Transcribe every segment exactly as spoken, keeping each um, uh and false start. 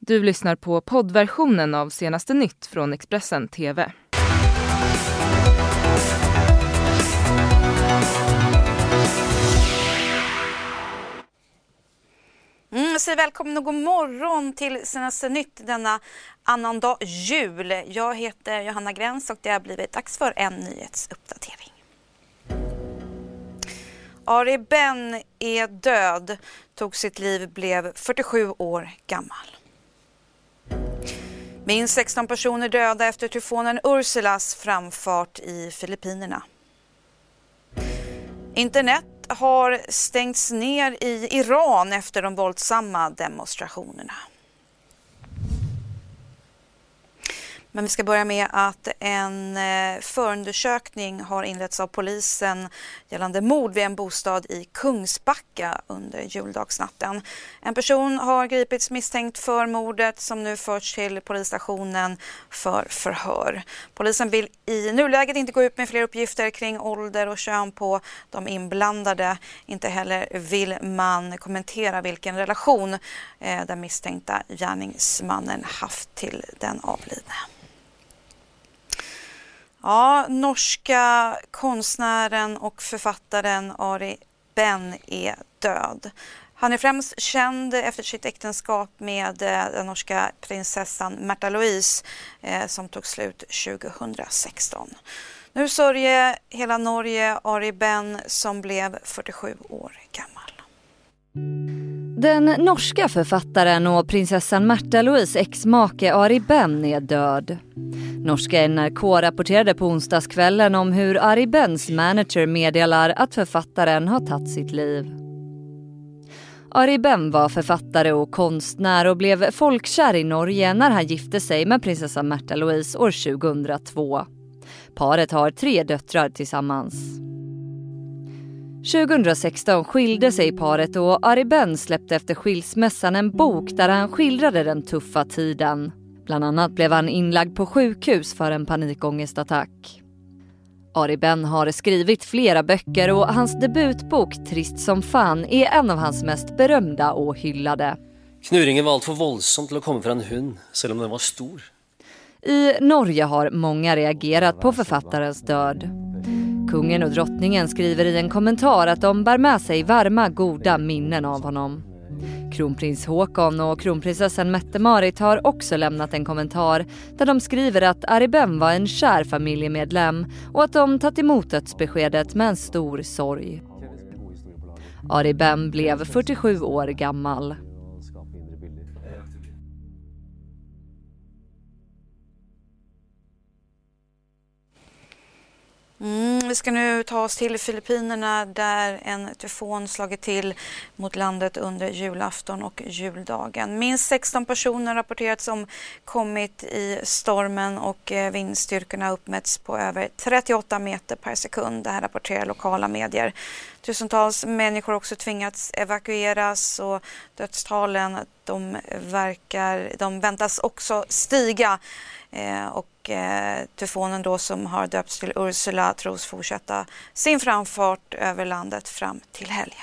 Du lyssnar på poddversionen av Senaste Nytt från Expressen T V. Mm, så välkommen och god morgon till Senaste Nytt denna annandag jul. Jag heter Johanna Gräns och det har blivit dags för en nyhetsuppdatering. Ari Ben är död, tog sitt liv, blev fyrtiosju år gammal. Minst sexton personer döda efter tyfonen Ursulas framfart i Filippinerna. Internet har stängts ner i Iran efter de våldsamma demonstrationerna. Men vi ska börja med att en förundersökning har inletts av polisen gällande mord vid en bostad i Kungsbacka under juldagsnatten. En person har gripits misstänkt för mordet som nu förts till polisstationen för förhör. Polisen vill i nuläget inte gå ut med fler uppgifter kring ålder och kön på de inblandade. Inte heller vill man kommentera vilken relation eh, den misstänkta gärningsmannen haft till den avlidne. Ja, norska konstnären och författaren Ari Ben är död. Han är främst känd efter sitt äktenskap med den norska prinsessan Märtha Louise eh, som tog slut tjugohundrasexton. Nu sörjer hela Norge Ari Ben som blev fyrtiosju år gammal. Den norska författaren och prinsessan Märtha Louise ex-make Ari Ben är död. Norska N R K rapporterade på onsdagskvällen om hur Ari Bens manager meddelar att författaren har tagit sitt liv. Ari Ben var författare och konstnär och blev folkkär i Norge när han gifte sig med prinsessan Märtha Louise år tjugohundratvå. Paret har tre döttrar tillsammans. tjugohundrasexton skilde sig paret och Ari Ben släppte efter skilsmässan en bok där han skildrade den tuffa tiden. Bland annat blev han inlagd på sjukhus för en panikångestattack. Ari Ben har skrivit flera böcker och hans debutbok Trist som fan är en av hans mest berömda och hyllade. Knurringen var allt för våldsam till att komma från en hund, även om den var stor. I Norge har många reagerat på författarens död. Kungen och drottningen skriver i en kommentar att de bär med sig varma, goda minnen av honom. Kronprins Håkon och kronprinsessan Mette-Marit har också lämnat en kommentar där de skriver att Ari Ben var en kär familjemedlem och att de tagit emot dödsbeskedet med en stor sorg. Ari Ben blev fyrtiosju år gammal. Mm, vi ska nu ta oss till Filippinerna där en tyfon slagit till mot landet under julafton och juldagen. Minst sexton personer rapporterats om kommit i stormen och vindstyrkorna uppmätts på över trettioåtta meter per sekund. Det här rapporterar lokala medier. Tusentals människor också tvingats evakueras och dödstalen de, verkar, de väntas också stiga. Eh, och eh, tyfonen då som har döpts till Ursula tros fortsätta sin framfart över landet fram till helgen.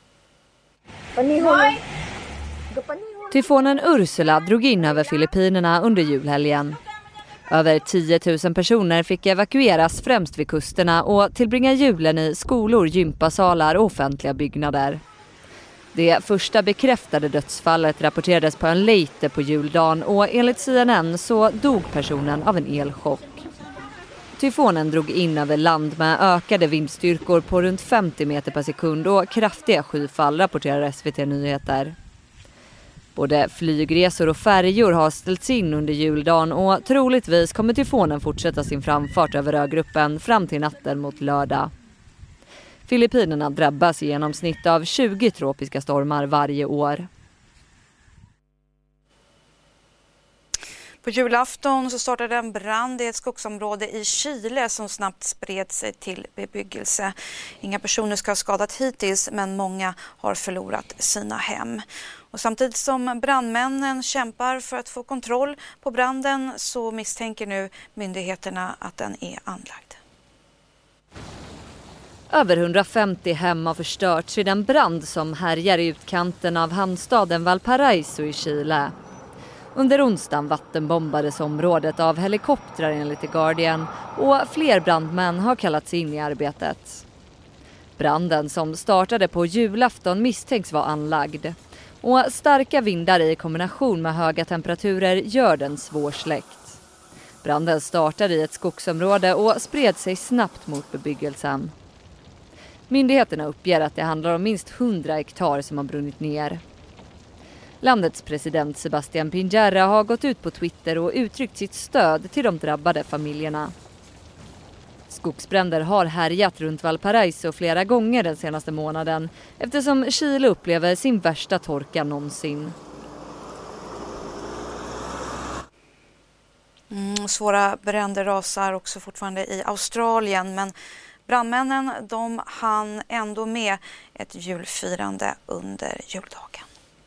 Tyfonen Ursula drog in över Filippinerna under julhelgen. Över tio tusen personer fick evakueras främst vid kusterna och tillbringa julen i skolor, gympasalar och offentliga byggnader. Det första bekräftade dödsfallet rapporterades på en Leyte på juldagen och enligt C N N så dog personen av en elchock. Tyfonen drog in över land med ökade vindstyrkor på runt femtio meter per sekund och kraftiga skyfall, rapporterar S V T Nyheter. Både flygresor och färjor har ställts in under juldagen och troligtvis kommer tyfonen fortsätta sin framfart över ögruppen fram till natten mot lördag. Filippinerna drabbas i genomsnitt av tjugo tropiska stormar varje år. På julafton så startade en brand i ett skogsområde i Chile som snabbt spred sig till bebyggelse. Inga personer ska ha skadat hittills, men många har förlorat sina hem. Och samtidigt som brandmännen kämpar för att få kontroll på branden så misstänker nu myndigheterna att den är anlagd. Över hundrafemtio hem har förstörts i den brand som härjar i utkanten av hamnstaden Valparaiso i Chile. Under onsdagen vattenbombades området av helikoptrar enligt The Guardian och fler brandmän har kallats in i arbetet. Branden som startade på julafton misstänks vara anlagd. Och starka vindar i kombination med höga temperaturer gör den svårsläckt. Branden startade i ett skogsområde och spred sig snabbt mot bebyggelsen. Myndigheterna uppger att det handlar om minst hundra hektar som har brunnit ner. Landets president Sebastián Piñera har gått ut på Twitter och uttryckt sitt stöd till de drabbade familjerna. Skogsbränder har härjat runt Valparaiso flera gånger den senaste månaden eftersom Chile upplever sin värsta torka någonsin. Mm, svåra bränder rasar också fortfarande i Australien, men brandmännen de hann ändå med ett julfirande under juldagen.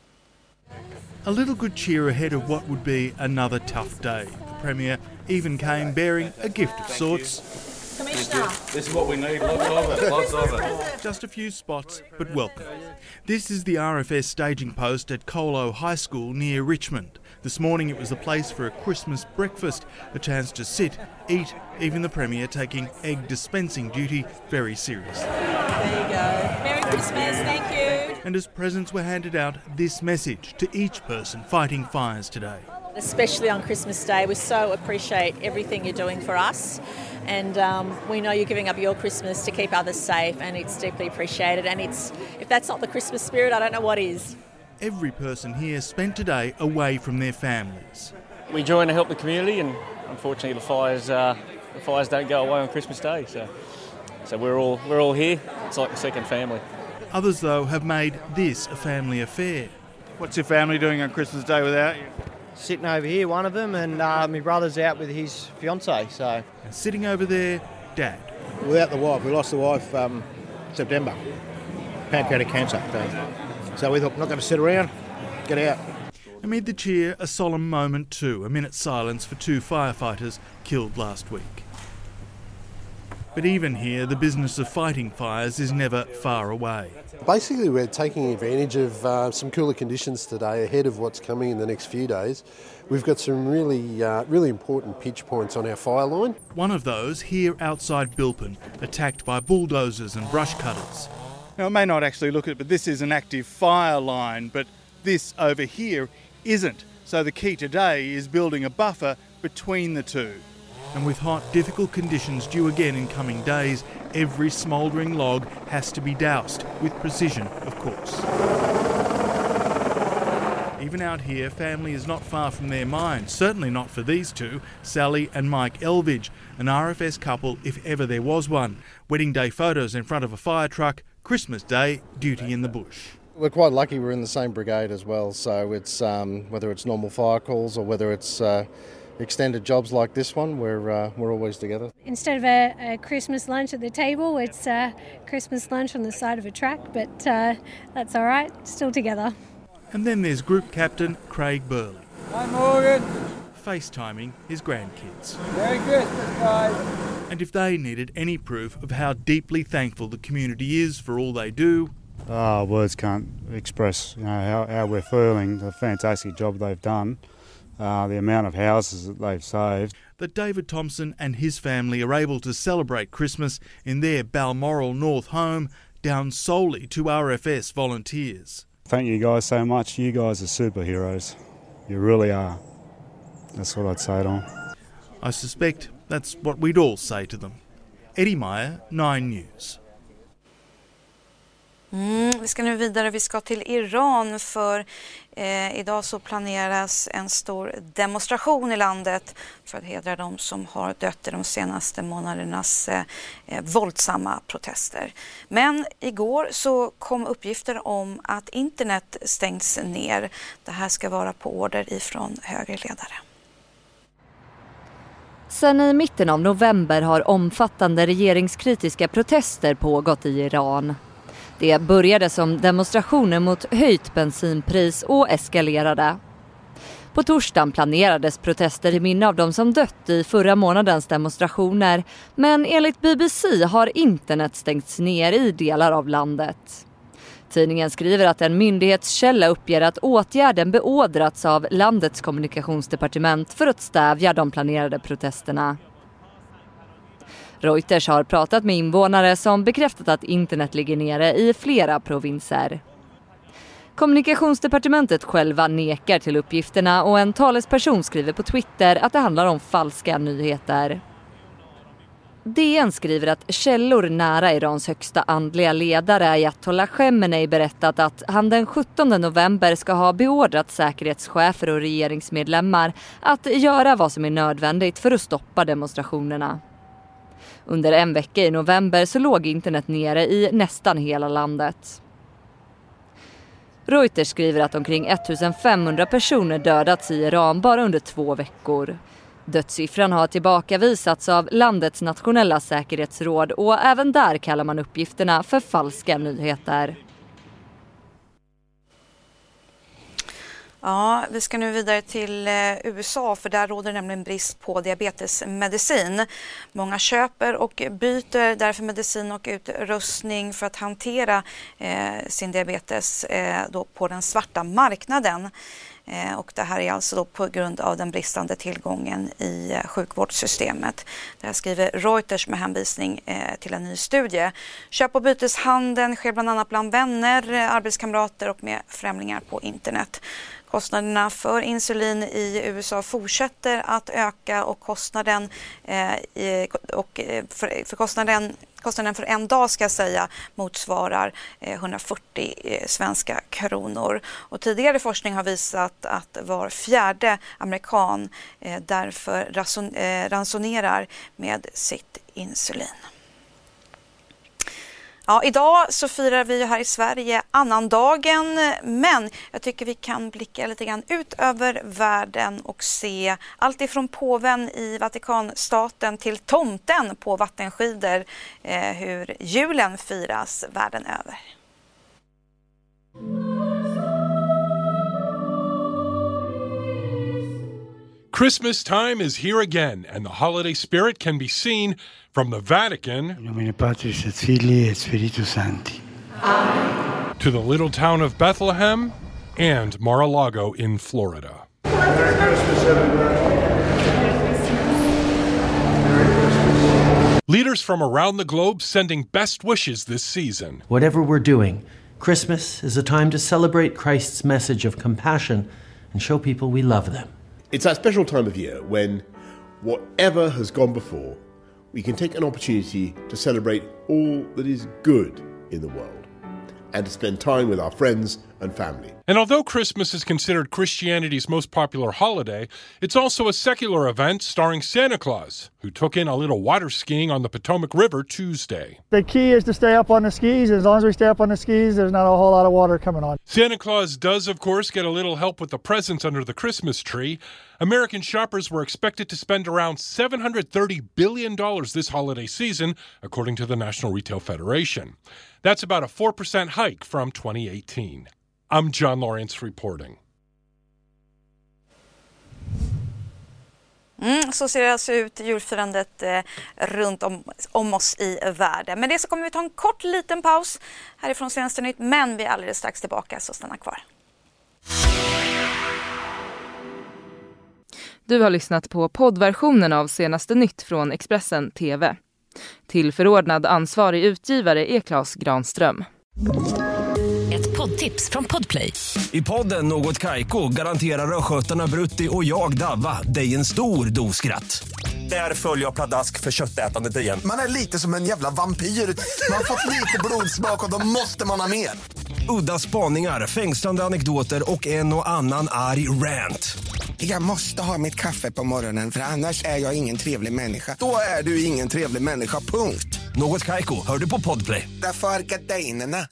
A little good cheer ahead of what would be another tough day. The Premier even came bearing a gift of sorts. Commissioner. This is what we need, lots of it, lots of it. Just a few spots, but welcome. This is the R F S staging post at Colo High School near Richmond. This morning it was the place for a Christmas breakfast, a chance to sit, eat, even the Premier taking egg dispensing duty very seriously. There you go. Merry Christmas, thank you. And as presents were handed out, this message to each person fighting fires today. Especially on Christmas Day, we so appreciate everything you're doing for us, and um, we know you're giving up your Christmas to keep others safe, and it's deeply appreciated. And it's if that's not the Christmas spirit, I don't know what is. Every person here spent today away from their families. We join to help the community, and unfortunately, the fires uh, the fires don't go away on Christmas Day. So, so we're all we're all here. It's like a second family. Others, though, have made this a family affair. What's your family doing on Christmas Day without you? Sitting over here, one of them, and uh, my brother's out with his fiancée. So, and sitting over there, Dad. Without the wife, we lost the wife um, September, pancreatic cancer. So, so we thought, we're not going to sit around, get out. Amid the cheer, a solemn moment too, a minute's silence for two firefighters killed last week. But even here, the business of fighting fires is never far away. Basically, we're taking advantage of uh, some cooler conditions today ahead of what's coming in the next few days. We've got some really, uh, really important pinch points on our fire line. One of those here outside Bilpin, attacked by bulldozers and brush cutters. Now, it may not actually look at it, but this is an active fire line, but this over here isn't. So the key today is building a buffer between the two. And with hot, difficult conditions due again in coming days, every smouldering log has to be doused, with precision, of course. Even out here, family is not far from their minds, certainly not for these two, Sally and Mike Elvidge, an R F S couple if ever there was one. Wedding day photos in front of a fire truck, Christmas Day, duty in the bush. We're quite lucky we're in the same brigade as well, so it's um, whether it's normal fire calls or whether it's uh, extended jobs like this one, we're uh, we're always together. Instead of a, a Christmas lunch at the table, it's a Christmas lunch on the side of a truck, but uh, that's all right, still together. And then there's Group Captain Craig Burley. Hi Morgan. FaceTiming his grandkids. Very good, guys. And if they needed any proof of how deeply thankful the community is for all they do, oh, words can't express, you know, how, how we're feeling, the fantastic job they've done. Uh, the amount of houses that they've saved. That David Thompson and his family are able to celebrate Christmas in their Balmoral North home down solely to R F S volunteers. Thank you guys so much. You guys are superheroes. You really are. That's what I'd say to them. I suspect that's what we'd all say to them. Eddie Meyer, Nine News. Mm, vi ska nu vidare, vi ska till Iran för eh, idag så planeras en stor demonstration i landet för att hedra de som har dött i de senaste månadernas eh, eh, våldsamma protester. Men igår så kom uppgifter om att internet stängs ner. Det här ska vara på order ifrån högerledare. Sen i mitten av november har omfattande regeringskritiska protester pågått i Iran. Det började som demonstrationer mot höjt bensinpris och eskalerade. På torsdagen planerades protester i minne av de som dött i förra månadens demonstrationer, men enligt B B C har internet stängts ner i delar av landet. Tidningen skriver att en myndighetskälla uppger att åtgärden beordrats av landets kommunikationsdepartement för att stävja de planerade protesterna. Reuters har pratat med invånare som bekräftat att internet ligger nere i flera provinser. Kommunikationsdepartementet själva nekar till uppgifterna och en talesperson skriver på Twitter att det handlar om falska nyheter. D N skriver att källor nära Irans högsta andliga ledare Ayatollah Khamenei berättat att han den sjuttonde november ska ha beordrat säkerhetschefer och regeringsmedlemmar att göra vad som är nödvändigt för att stoppa demonstrationerna. Under en vecka i november så låg internet nere i nästan hela landet. Reuters skriver att omkring ettusenfemhundra personer dödats i Iran bara under två veckor. Dödssiffran har tillbakavisats av landets nationella säkerhetsråd och även där kallar man uppgifterna för falska nyheter. Ja, vi ska nu vidare till U S A för där råder nämligen brist på diabetesmedicin. Många köper och byter därför medicin och utrustning för att hantera eh, sin diabetes eh, då på den svarta marknaden. Eh, och det här är alltså då på grund av den bristande tillgången i eh, sjukvårdssystemet. Det här skriver Reuters med hänvisning eh, till en ny studie. Köp- och byteshandeln sker bland annat bland vänner, eh, arbetskamrater och med främlingar på internet. Kostnaderna för insulin i U S A fortsätter att öka och kostnaden, eh, och för, för kostnaden, kostnaden för en dag ska jag säga motsvarar eh, hundrafyrtio eh, svenska kronor. Och tidigare forskning har visat att var fjärde amerikan eh, därför rason, eh, ransonerar med sitt insulin. Ja, idag så firar vi här i Sverige annandagen, men jag tycker vi kan blicka lite grann ut över världen och se allt ifrån påven i Vatikanstaten till tomten på vattenskidor, eh, hur julen firas världen över. Christmas time is here again, and the holiday spirit can be seen from the Vatican In nomine Patris et Filii et Spiritus Sancti. Amen. To the little town of Bethlehem and Mar-a-Lago in Florida. Merry Christmas, everybody. Leaders from around the globe sending best wishes this season. Whatever we're doing, Christmas is a time to celebrate Christ's message of compassion and show people we love them. It's that special time of year when whatever has gone before, we can take an opportunity to celebrate all that is good in the world and to spend time with our friends and family. And although Christmas is considered Christianity's most popular holiday, it's also a secular event starring Santa Claus, who took in a little water skiing on the Potomac River Tuesday. The key is to stay up on the skis. As long as we stay up on the skis, there's not a whole lot of water coming on. Santa Claus does, of course, get a little help with the presents under the Christmas tree. American shoppers were expected to spend around seven hundred thirty billion dollars this holiday season, according to the National Retail Federation. That's about a four percent hike from twenty eighteen. I'm John Lawrence reporting. Mm, så ser det alltså ut julfirandet eh, runt om, om oss i världen. Men det så kommer vi ta en kort liten paus härifrån Senaste Nytt, men vi är alldeles strax tillbaka, så stanna kvar. Du har lyssnat på poddversionen av Senaste Nytt från Expressen T V. Till förordnad ansvarig utgivare är Claes Granström. Ett poddtips från Podplay. I podden Något Kaiko garanterar röskötarna Brutti och jag Davva dig en stor doskratt. Där följer jag pladask för köttätandet igen. Man är lite som en jävla vampyr. Man har fått lite blodsmak och då måste man ha mer. Udda spaningar, fängslande anekdoter och en och annan arg rant. Jag måste ha mitt kaffe på morgonen för annars är jag ingen trevlig människa. Då är du ingen trevlig människa, punkt. Något Kaiko, hör du på Podplay. Därför är gardinerna.